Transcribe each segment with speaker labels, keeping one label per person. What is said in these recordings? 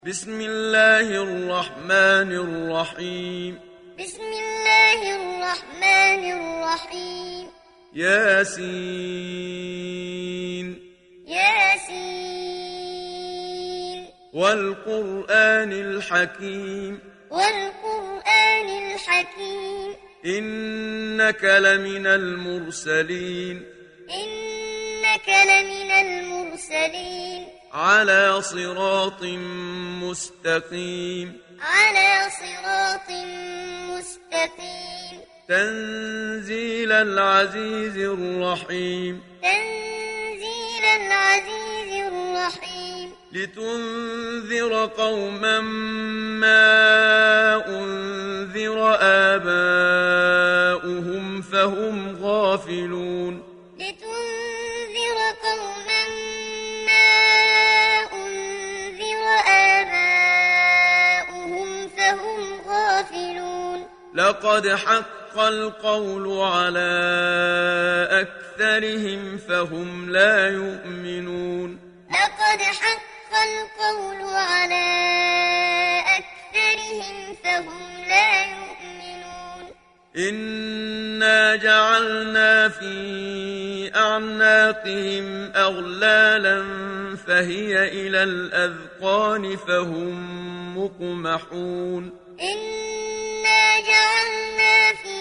Speaker 1: بسم الله الرحمن الرحيم
Speaker 2: بسم الله الرحمن الرحيم
Speaker 1: ياسين
Speaker 2: ياسين
Speaker 1: والقرآن الحكيم
Speaker 2: والقرآن الحكيم
Speaker 1: إنك لمن المرسلين
Speaker 2: إنك لمن المرسلين
Speaker 1: على صراط مستقيم
Speaker 2: على صراط مستقيم
Speaker 1: تنزيل العزيز الرحيم
Speaker 2: تنزيل العزيز الرحيم
Speaker 1: لتنذر قوما ما أنذر آباؤهم فهم غافلون
Speaker 2: لتنذر قوما ما أنذر آباؤهم فهم غافلون
Speaker 1: لقد حق القول على أكثرهم فهم لا يؤمنون
Speaker 2: لقد حق القول على أكثرهم فهم لا يؤمنون
Speaker 1: إنا جعلنا في أعناقهم أغلالا فهي إلى الأذقان فهم مقمحون
Speaker 2: إنا جعلنا في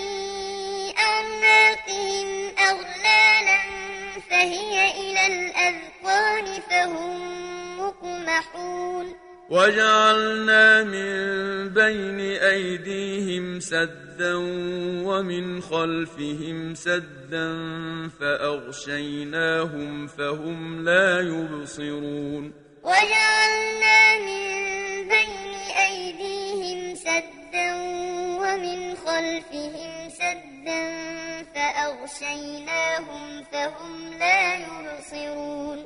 Speaker 2: أعناقهم أغلالا فهي إلى الأذقان فهم مقمحون
Speaker 1: وجعلنا من بين أيديهم سدا ومن خلفهم سدا فأغشيناهم فهم لا يبصرون
Speaker 2: وجعلنا من بين أيديهم سدا ومن خلفهم سدا فأغشيناهم فهم لا يبصرون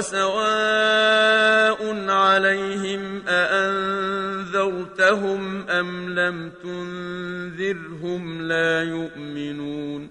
Speaker 1: وسواء عليهم أأنذرتهم أم لم تنذرهم لا يؤمنون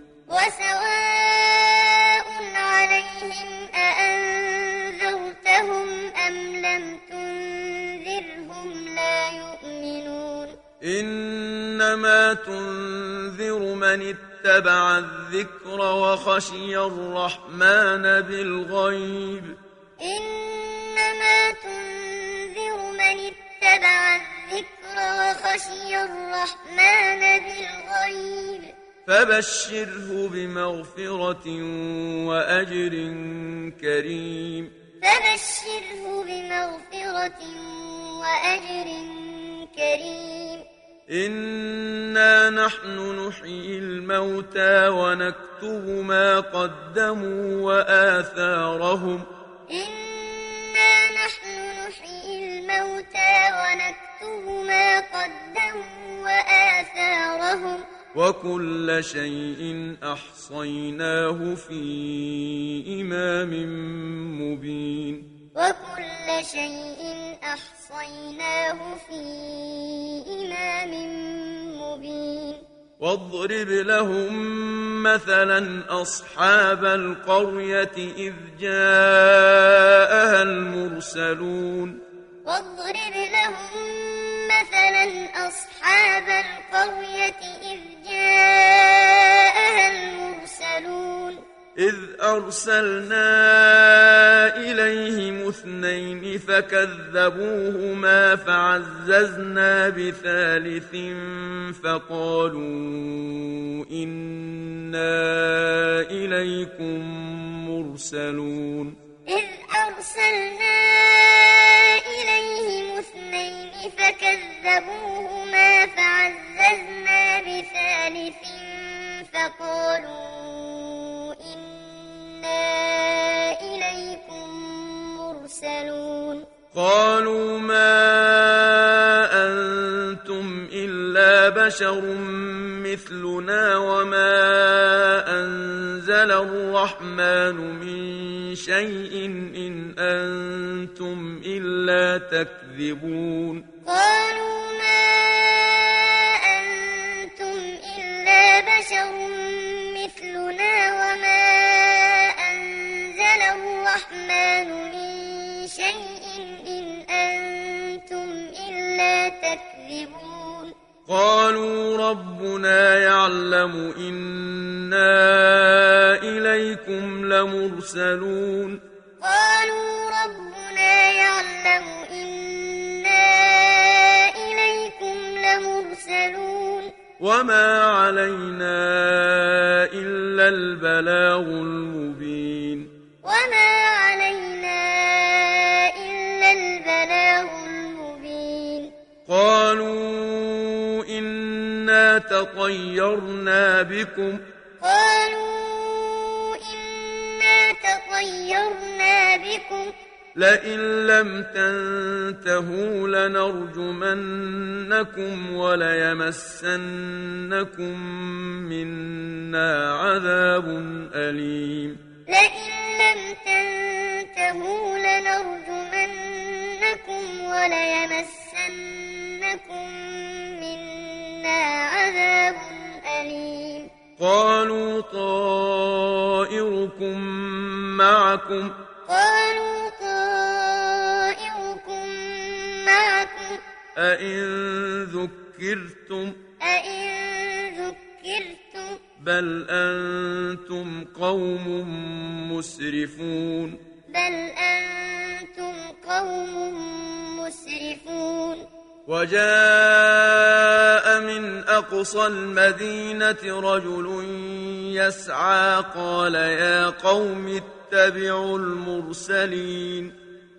Speaker 2: وسواء عليهم أأنذرتهم أم لم تنذرهم لا يؤمنون
Speaker 1: إنما تنذر من اتبع الذكر وخشي الرحمن بالغيب
Speaker 2: إنما تنذر من اتبع الذكر وخشي الرحمن بالغيب
Speaker 1: فبشره بمغفرة وأجر كريم
Speaker 2: فبشره بمغفرة وأجر كريم
Speaker 1: إنا نحن نحيي الموتى ونكتب ما قدموا وآثارهم
Speaker 2: إنا نحن نحيي الموتى ونكتب ما قدموا وآثارهم
Speaker 1: وكل شيء أحصيناه في إمام مبين
Speaker 2: وكل شيء أحصيناه في إمام مبين
Speaker 1: واضرب لهم مثلا أصحاب القرية إذ جاءها المرسلون
Speaker 2: واضرب لهم مثلا أصحاب القرية إذ جاءها المرسلون
Speaker 1: إذ أرسلنا إليهم اثنين فكذبوهما فعززنا بثالث فقالوا إنا إليكم مرسلون
Speaker 2: إذ أرسلنا إليهم اثنين فكذبوهما فعززنا بثالث فقالوا إنا إليكم مرسلون
Speaker 1: قالوا ما أنتم إلا بشر مثلنا وما أنزل الرحمن من شيء إن أنتم إلا تكذبون
Speaker 2: قالوا ما أنتم إلا بشر مثلنا وما أنزل الرحمن من شيء إن أنتم
Speaker 1: قالوا ربنا يعلم إنا إليكم لمرسلون
Speaker 2: قالوا ربنا يعلم إنا إليكم لمرسلون
Speaker 1: وما علينا إلا البلاغ المبين
Speaker 2: وما علينا إلا البلاغ المبين
Speaker 1: قالوا إنا تطيرنا بكم
Speaker 2: قالوا إنا تطيرنا بكم
Speaker 1: لئن لم تنتهوا لنرجمنكم وليمسنكم منا عذاب أليم
Speaker 2: لئن لم تنتهوا لنرجمنكم وليمسنكم منا عذاب أليم
Speaker 1: قالوا طائركم معكم
Speaker 2: قالوا طائركم معكم
Speaker 1: أئن ذكرتم بل أنتم قوم مسرفون وجاء من أقصى المدينة رجل يسعى قال يا قوم اتبعوا المرسلين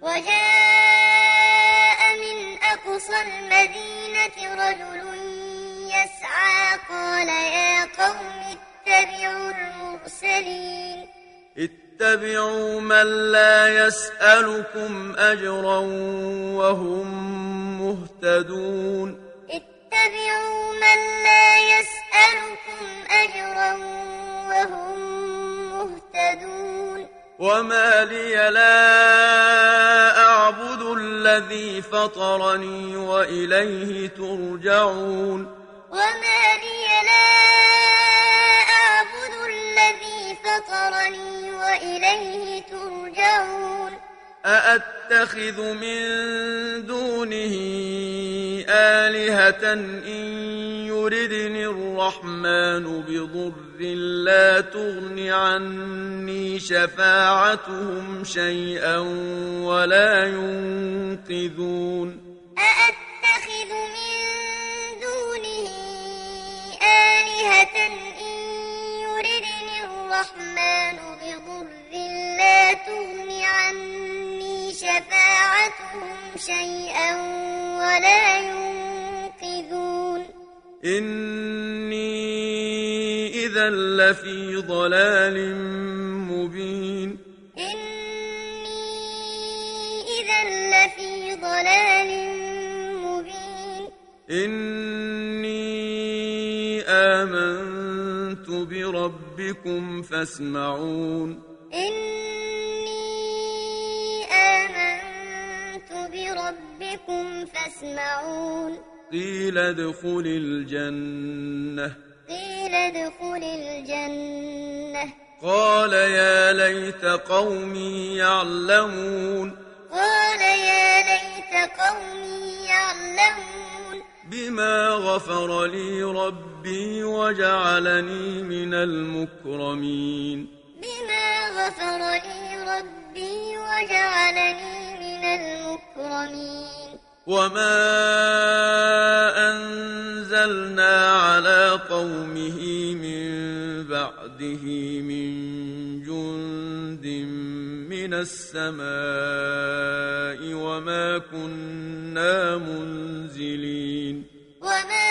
Speaker 2: وجاء من أقصى المدينة رجل يسعى قال يا قوم اتبعوا المرسلين
Speaker 1: اتبعوا من لا يسألكم أجرا وهم مهتدون
Speaker 2: اتبعوا من لا يسألكم أجرا وهم مهتدون
Speaker 1: وما لي لا أعبد الذي فطرني وإليه ترجعون
Speaker 2: وما لي لا أعبد الذي فطرني وإليه ترجعون
Speaker 1: أأتخذ من دونه آلهة إن يردني الرحمن بضر لا تغن عني شفاعتهم شيئا ولا ينقذون
Speaker 2: أأتخذ من دونه آلهة إن يردني الرحمن بضر لا تغن عني شفاعتهم شيئا ولا ينقذون
Speaker 1: إني إذا لفي ضلال مبين
Speaker 2: إني إذا لفي ضلال مبين
Speaker 1: إني آمنت بربكم فاسمعون
Speaker 2: إني آمنت بربكم فاسمعون
Speaker 1: قيل ادخل الجنة قال يا ليت قومي يعلمون بما غفر لي ربي وجعلني من المكرمين وما أنزلنا على قومه من بعده من جند من السماء وما كنا منزلين
Speaker 2: وما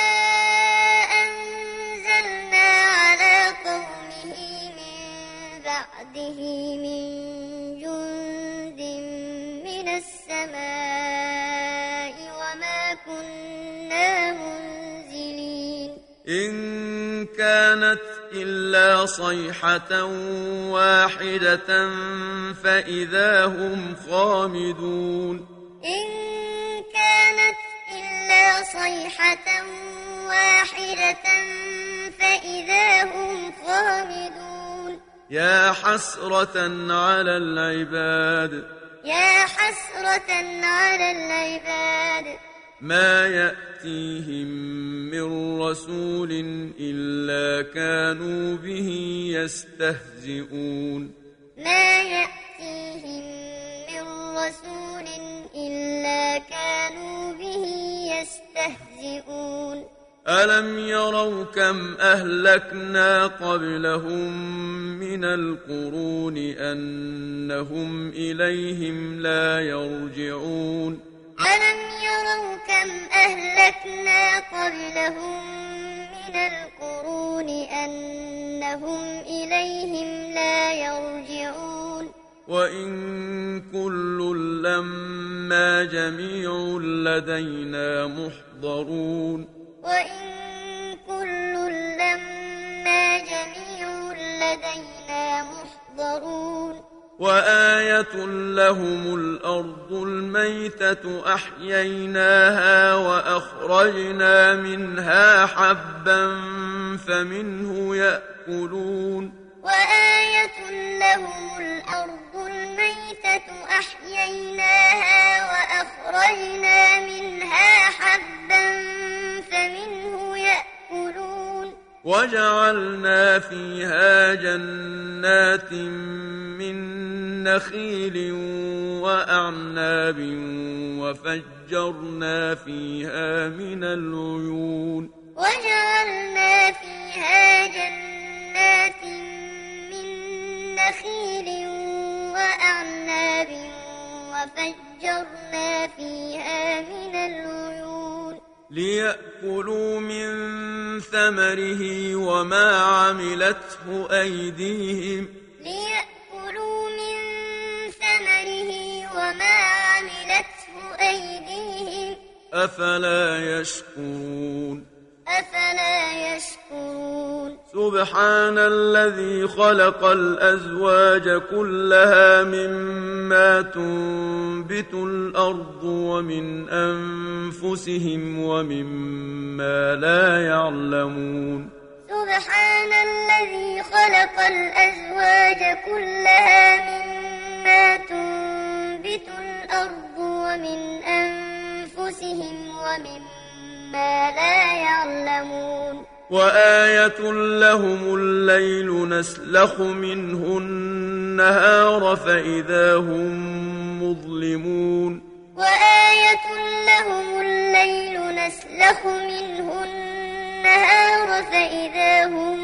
Speaker 2: أنزلنا على قومه من بعده من جند من السماء وما كنا منزلين
Speaker 1: إن كانت إلا صيحة واحدة فإذا هم خامدون
Speaker 2: إن كانت إلا صيحة واحدة فإذا هم خامدون
Speaker 1: يا حسرة على العباد ما يأتيهم من رسول إلا كانوا به يستهزئون
Speaker 2: ما يأتيهم من رسول إلا كانوا به يستهزئون
Speaker 1: ألم يروا كم أهلكنا قبلهم من القرون أنهم إليهم لا يرجعون
Speaker 2: ألم يروا كم أهلكنا قبلهم من القرون أنهم إليهم لا يرجعون
Speaker 1: وإن كل لما جميع لدينا محضرون
Speaker 2: وإن كل لما جميع لدينا محضرون
Speaker 1: وآية لهم الأرض الميتة أحييناها وأخرجنا منها حبا فمنه يأكلون
Speaker 2: وآية لهم الأرض الميتة أحييناها وأخرجنا منها حبا فمنه يأكلون
Speaker 1: وجعلنا فيها جنات من نخيل وأعناب وفجرنا فيها من العيون
Speaker 2: وجعلنا فيها جنات من نخيل وأعناب وفجرنا فيها من العيون
Speaker 1: ليأكلوا من ثمره وما عملته أيديهم
Speaker 2: ليأكلوا من ثمره وما عملته أيديهم
Speaker 1: أفلا يشكرون
Speaker 2: أفلا يشكرون
Speaker 1: سبحان الذي خلق الأزواج كلها مما تنبت الأرض ومن أنفسهم ومما لا يعلمون
Speaker 2: سبحان الذي خلق الأزواج كلها مما تنبت الأرض ومن أنفسهم ومما لا يعلمون
Speaker 1: وآية لهم الليل نسلخ منه النهار فإذا هم مظلمون
Speaker 2: وآية لهم الليل نسلخ منه النهار فإذا هم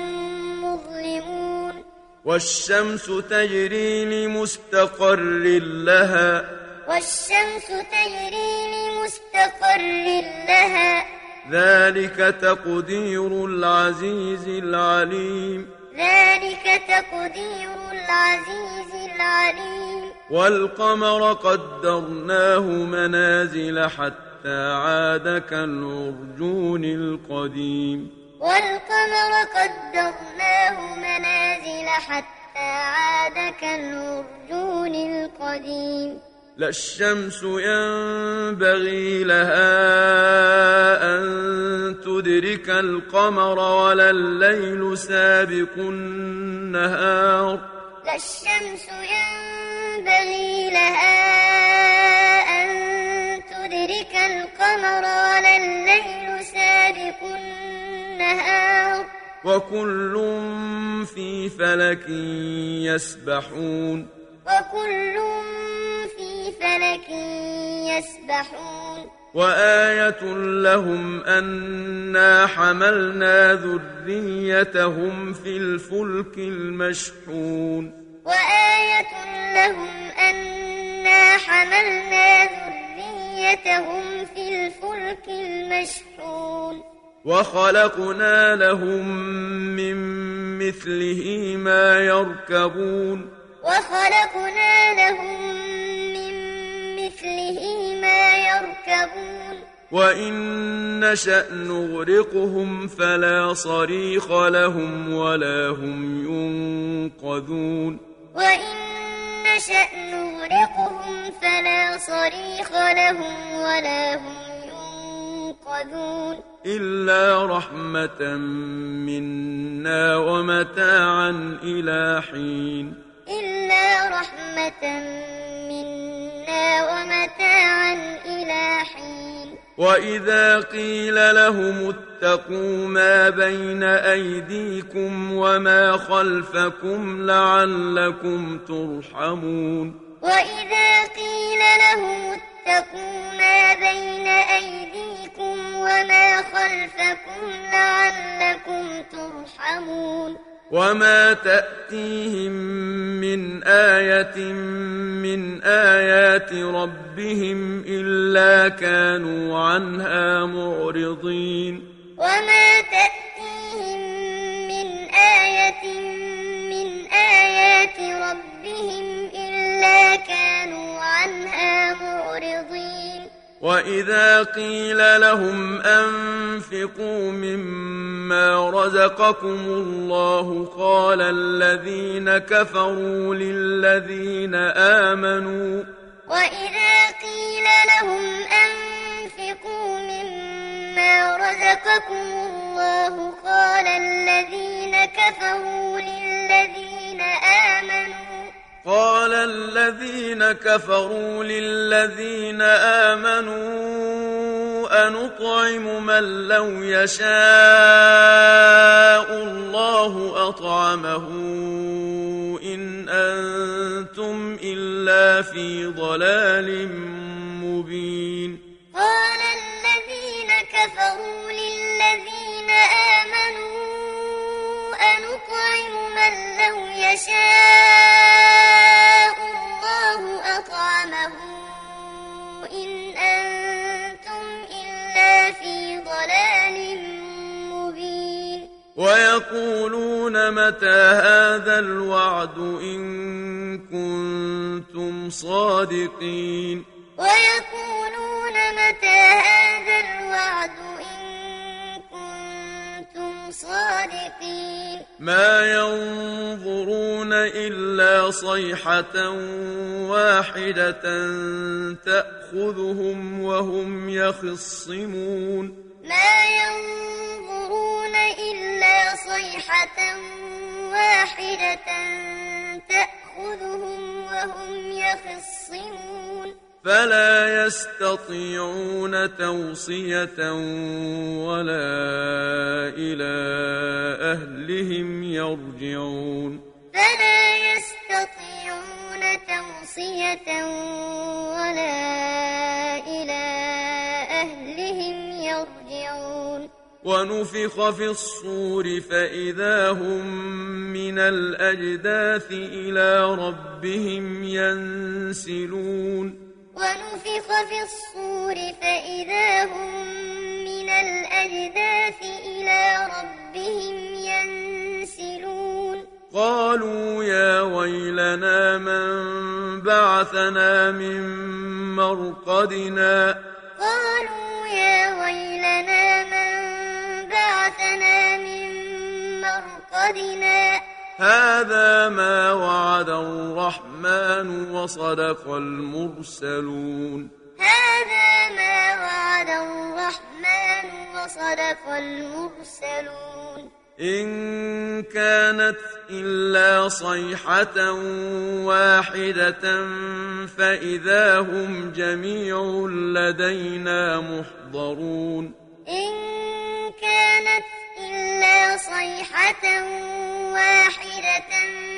Speaker 2: مظلمون
Speaker 1: والشمس تجري لمستقر لها
Speaker 2: والشمس تجري لمستقر لها
Speaker 1: ذلك تقدير العزيز العليم
Speaker 2: ذلك تقدير العزيز العليم
Speaker 1: والقمر قدرناه منازل حتى عاد كالعرجون القديم
Speaker 2: والقمر قدرناه منازل حتى عاد كالعرجون القديم
Speaker 1: لا الشمس ينبغي لها أن تدرك القمر ولا الليل سابق النهار
Speaker 2: لا الشمس ينبغي لها أن تدرك القمر ولا الليل سابق النهار
Speaker 1: وكل في فلك يسبحون
Speaker 2: وكل في فلك يسبحون
Speaker 1: وآية لهم أنا حملنا ذريتهم في الفلك المشحون
Speaker 2: وآية لهم أنا حملنا ذريتهم في الفلك المشحون
Speaker 1: وخلقنا لهم من مثله ما يركبون
Speaker 2: وخلقنا لهم من مثله ما يركبون
Speaker 1: وإن نشأ نغرقهم فلا صريخ لهم ولا هم ينقذون
Speaker 2: وإن نشأ نغرقهم فلا صريخ لهم ولا هم ينقذون
Speaker 1: إلا رحمة منا ومتاعا إلى حين
Speaker 2: إلا رحمة منا ومتاعا إلى حين
Speaker 1: وإذا قيل لهم اتقوا ما بين أيديكم وما خلفكم لعلكم ترحمون
Speaker 2: وإذا قيل لهم اتقوا ما بين أيديكم وما خلفكم لعلكم ترحمون
Speaker 1: وما تأتيهم من آية من آيات ربهم إلا كانوا عنها معرضين
Speaker 2: وما تأتيهم من آية من آيات ربهم إلا كانوا عنها معرضين
Speaker 1: وإذا قيل لهم أنفقوا مما رزقكم الله قال الذين كفروا للذين آمنوا
Speaker 2: وإذا قيل لهم أنفقوا مما رزقكم الله
Speaker 1: قال الذين كفروا للذين آمنوا أنطعم من لو يشاء الله أطعمه إن أنتم إلا في ضلال مبين
Speaker 2: قال الذين كفروا للذين آمنوا أنطعم من لو يشاء الله أطعمه إن أنتم إلا في ضلال مبين
Speaker 1: ويقولون متى هذا الوعد إن كنتم صادقين
Speaker 2: ويقولون متى هذا الوعد إن كنتم صادقين
Speaker 1: ما ينظرون إلا صيحة واحدة تأخذهم وهم يخصمون
Speaker 2: ما ينظرون إلا صيحة واحدة تأخذهم وهم يخصمون
Speaker 1: فلا يستطيعون توصية ولا إلى أهلهم يرجعون
Speaker 2: فلا يستطيعون توصية ولا إلى أهلهم يرجعون
Speaker 1: ونفخ في الصور فإذا هم من الأجداث إلى ربهم ينسلون
Speaker 2: ونفخ في الصور فإذا هم من الأجداث إلى ربهم ينسلون
Speaker 1: قالوا يا ويلنا من بعثنا من مرقدنا
Speaker 2: قالوا يا ويلنا من بعثنا من مرقدنا
Speaker 1: هذا ما وعد الرحمن وصدق المرسلون
Speaker 2: هذا ما وعد الرحمن وصدق المرسلون
Speaker 1: إن كانت إلا صيحة واحدة فإذا هم جميع لدينا محضرون
Speaker 2: إن كانت إلا صيحة واحدة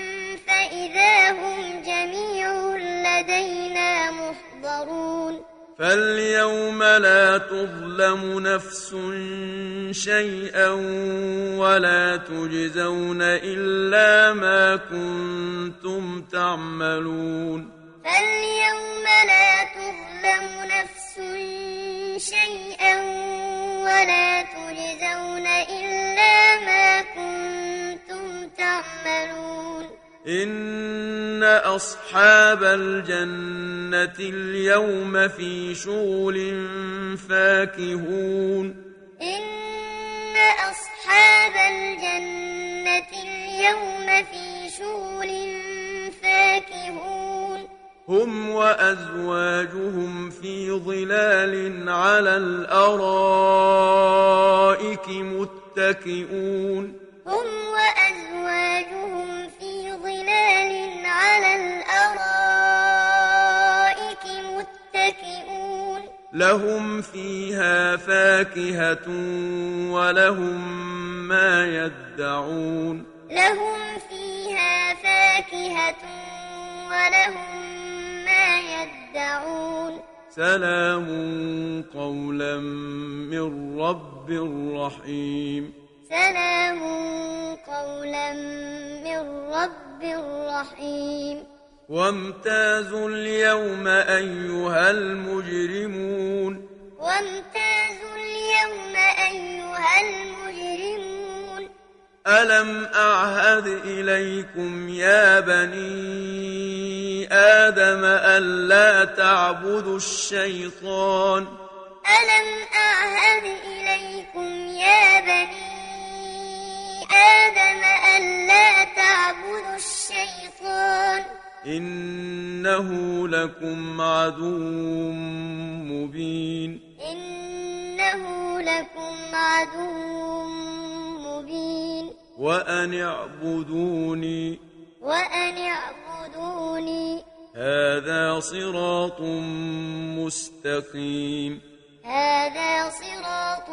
Speaker 2: فإذا هم جميع لدينا محضرون
Speaker 1: فاليوم لا تظلم نفس شيئا ولا تجزون إلا ما كنتم تعملون
Speaker 2: فاليوم لا تظلم نفس شيئا ولا تجزون إلا ما كنتم تعملون
Speaker 1: إن أصحاب الجنة اليوم في شغل فاكهون
Speaker 2: إن أصحاب الجنة اليوم في شغل فاكهون
Speaker 1: هم وأزواجهم في ظلال على الأرائك متكئون
Speaker 2: هم وأزواجهم في ظلال على الأرائك متكئون
Speaker 1: لهم فيها فاكهة ولهم ما يدعون
Speaker 2: لهم فيها فاكهة ولهم ما يدعون
Speaker 1: سلام قولا من رب رحيم
Speaker 2: سلام قولا من رب رحيم
Speaker 1: وامتازوا اليوم أيها المجرمون
Speaker 2: وامتازوا اليوم أيها المجرمون
Speaker 1: ألم أعهد إليكم يا بني آدم ألا تعبدوا الشيطان
Speaker 2: ألم أعهد إليكم يا بني آدم ألا تعبدوا الشيطان
Speaker 1: إنه لكم عدو مبين
Speaker 2: إنه لكم عدو مبين
Speaker 1: وأن اعبدوني
Speaker 2: وأن اعبدوني
Speaker 1: هذا صراط مستقيم
Speaker 2: هذا صراط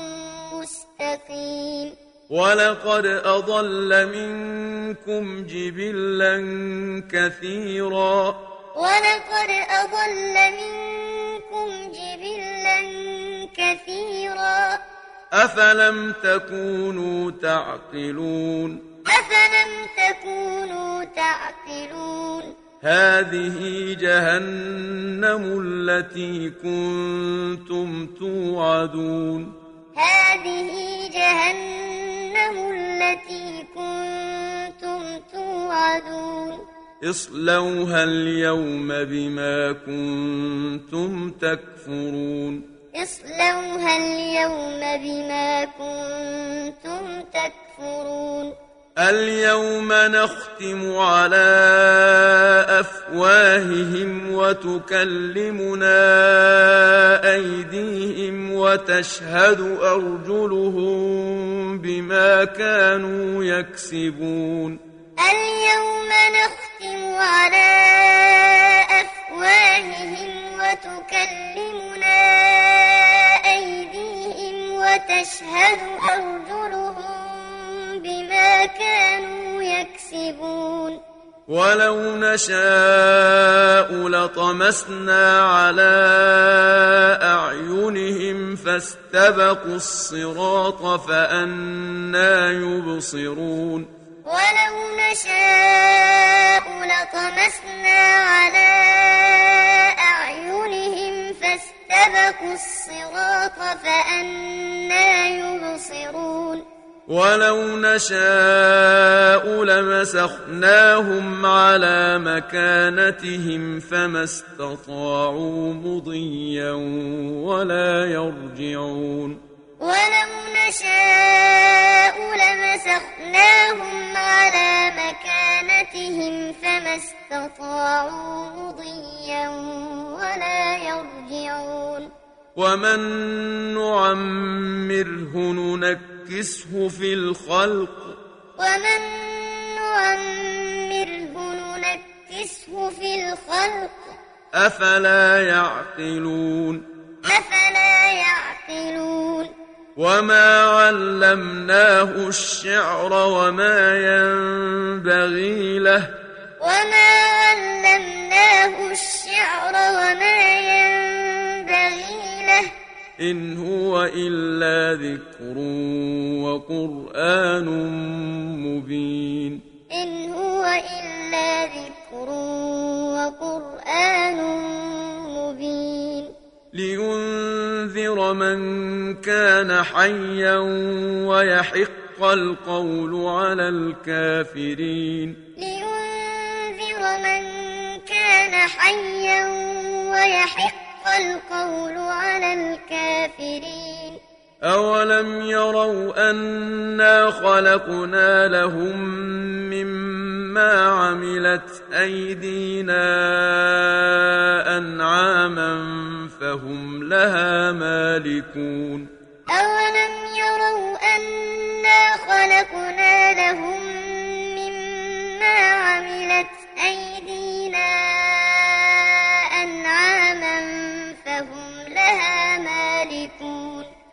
Speaker 2: مستقيم
Speaker 1: ولقد أضل منكم جبلا كثيرا
Speaker 2: ولقد أضل منكم جبلا كثيرا
Speaker 1: أفلم تكونوا تعقلون
Speaker 2: أفلم تكونوا تعقلون
Speaker 1: هذه جهنم التي كنتم توعدون
Speaker 2: هذه جهنم التي كنتم توعدون
Speaker 1: اصلوها اليوم بما كنتم تكفرون
Speaker 2: اصلوها اليوم بما كنتم تكفرون
Speaker 1: اليوم نختم على أفواههم وتكلمنا أيديهم وتشهد أرجلهم بما كانوا يكسبون
Speaker 2: اليوم نختم على أفواههم وتكلمنا أيديهم وتشهد أرجلهم بما كانوا يكسبون
Speaker 1: ولو نشاء لطمسنا على أعينهم فاستبقوا الصراط فأنى يبصرون
Speaker 2: ولو نشاء لطمسنا على أعينهم فاستبقوا الصراط فأنى يبصرون
Speaker 1: ولو نشاء لمسخناهم على مكانتهم فما استطاعوا مضيا ولا يرجعون
Speaker 2: ولو نشاء لمسخناهم على مكانتهم فما استطاعوا مضيا ولا يرجعون
Speaker 1: ومن نعمره ننكسه في الخلق
Speaker 2: ومن نعمره ننكسه في الخلق
Speaker 1: أفلا يعقلون
Speaker 2: أفلا يعقلون
Speaker 1: وما علمناه الشعر وما ينبغي له
Speaker 2: وما علمناه الشعر وما ينبغي له
Speaker 1: إن هو إلا ذكر وقرآن مبين
Speaker 2: إن هو إلا ذكر وقرآن مبين
Speaker 1: لينذر من كان حيا ويحق القول على الكافرين
Speaker 2: لينذر من كان حيا ويحق القول على الكافرين
Speaker 1: أولم يروا أنا خلقنا لهم مما عملت أيدينا أنعاما فهم لها مالكون
Speaker 2: أولم يروا أنا خلقنا لهم مما عملت أيدينا أنعاما فهم لها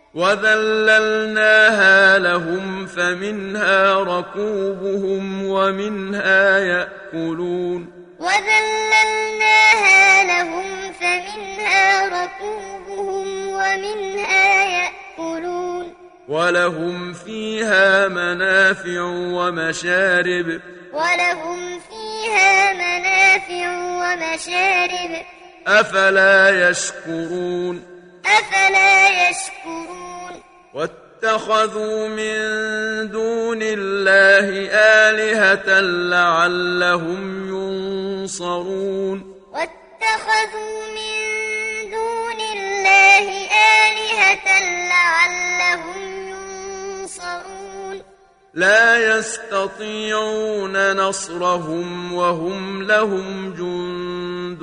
Speaker 1: وذللناها لهم فمنها ركوبهم ومنها يأكلون
Speaker 2: وذللناها لهم فمنها ركوبهم ومنها يأكلون
Speaker 1: ولهم فيها منافع ومشارب
Speaker 2: ولهم فيها منافع ومشارب
Speaker 1: أفلا يشكرون
Speaker 2: أفلا يشكرون
Speaker 1: واتخذوا من دون الله آلهة لعلهم ينصرون
Speaker 2: واتخذوا من دون الله آلهة لعلهم ينصرون
Speaker 1: لا يستطيعون نصرهم وهم لهم جند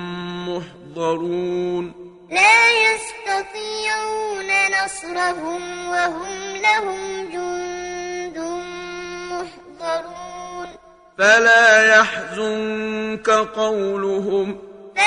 Speaker 1: محضرون
Speaker 2: لا يستطيعون نصرهم وهم لهم جند محضرون
Speaker 1: فلا يحزنك قولهم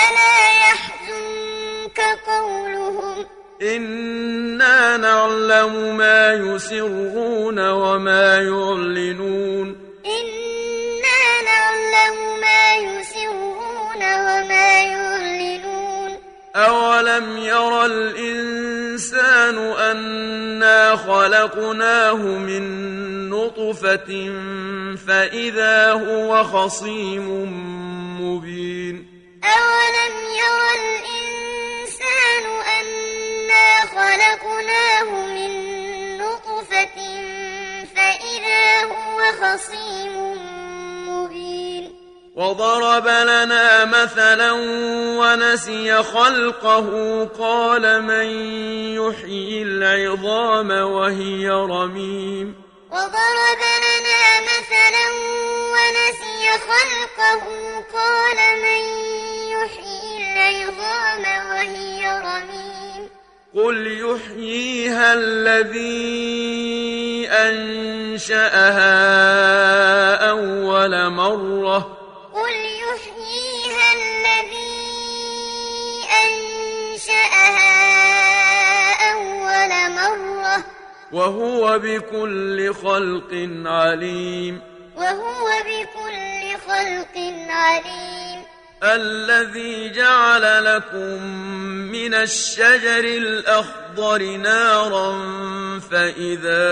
Speaker 1: إنا نعلم ما يسرون وما يعلنون
Speaker 2: إنا نعلم ما يسرون وما يعلنون
Speaker 1: أولم ير الإنسان أنا خلقناه من نطفة فإذا هو خصيم مبين
Speaker 2: أولم ير الإنسان أنا خلقناه من نطفة فإذا هو خصيم مبين
Speaker 1: وضرب لنا مثلا ونسي خلقه قال من يحيي العظام وهي رميم
Speaker 2: وضرب لنا مثلا ونسي خلقه قال من يحيي العظام وهي رميم
Speaker 1: قل يحييها الذي أنشأها أول مرة
Speaker 2: قل يحييها الذي أنشأها أول مرة
Speaker 1: وهو بكل خلق عليم
Speaker 2: وهو بكل خلق عليم
Speaker 1: الذي جعل لكم من الشجر الأخضر نارا فإذا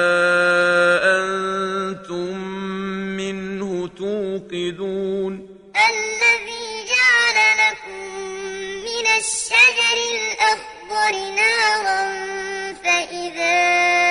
Speaker 1: أنتم منه توقدون
Speaker 2: الذي جعل لكم من الشجر الأخضر نارا فإذا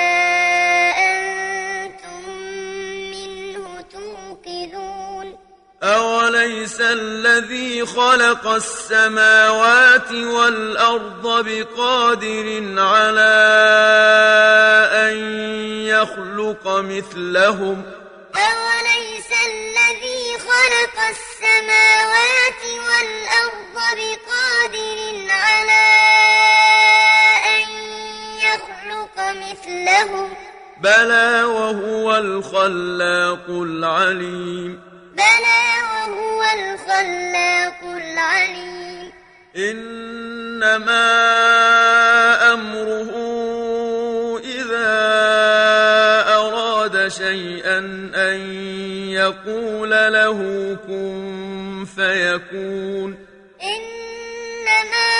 Speaker 2: أنتم منه توقدون
Speaker 1: أوليس الذي خلق السماوات والأرض بقادر على أن يخلق مثلهم
Speaker 2: أوليس الذي خلق السماوات والأرض بقادر على أن يخلق مثلهم
Speaker 1: بلى وهو الخلاق العليم
Speaker 2: بلى وهو الخلاق العليم
Speaker 1: إنما أمره إذا أراد شيئا أن يقول له كن فيكون
Speaker 2: إنما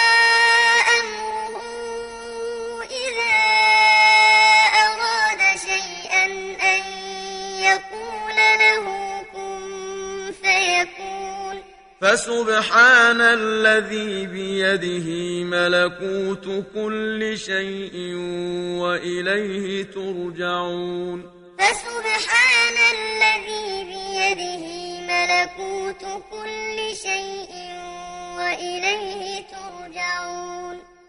Speaker 2: أمره إذا أراد شيئا أن يقول له كن فيكون
Speaker 1: فسبحان الذي بيده ملكوت كل شيء وإليه ترجعون
Speaker 2: فسبحان الذي بيده ملكوت كل شيء وإليه ترجعون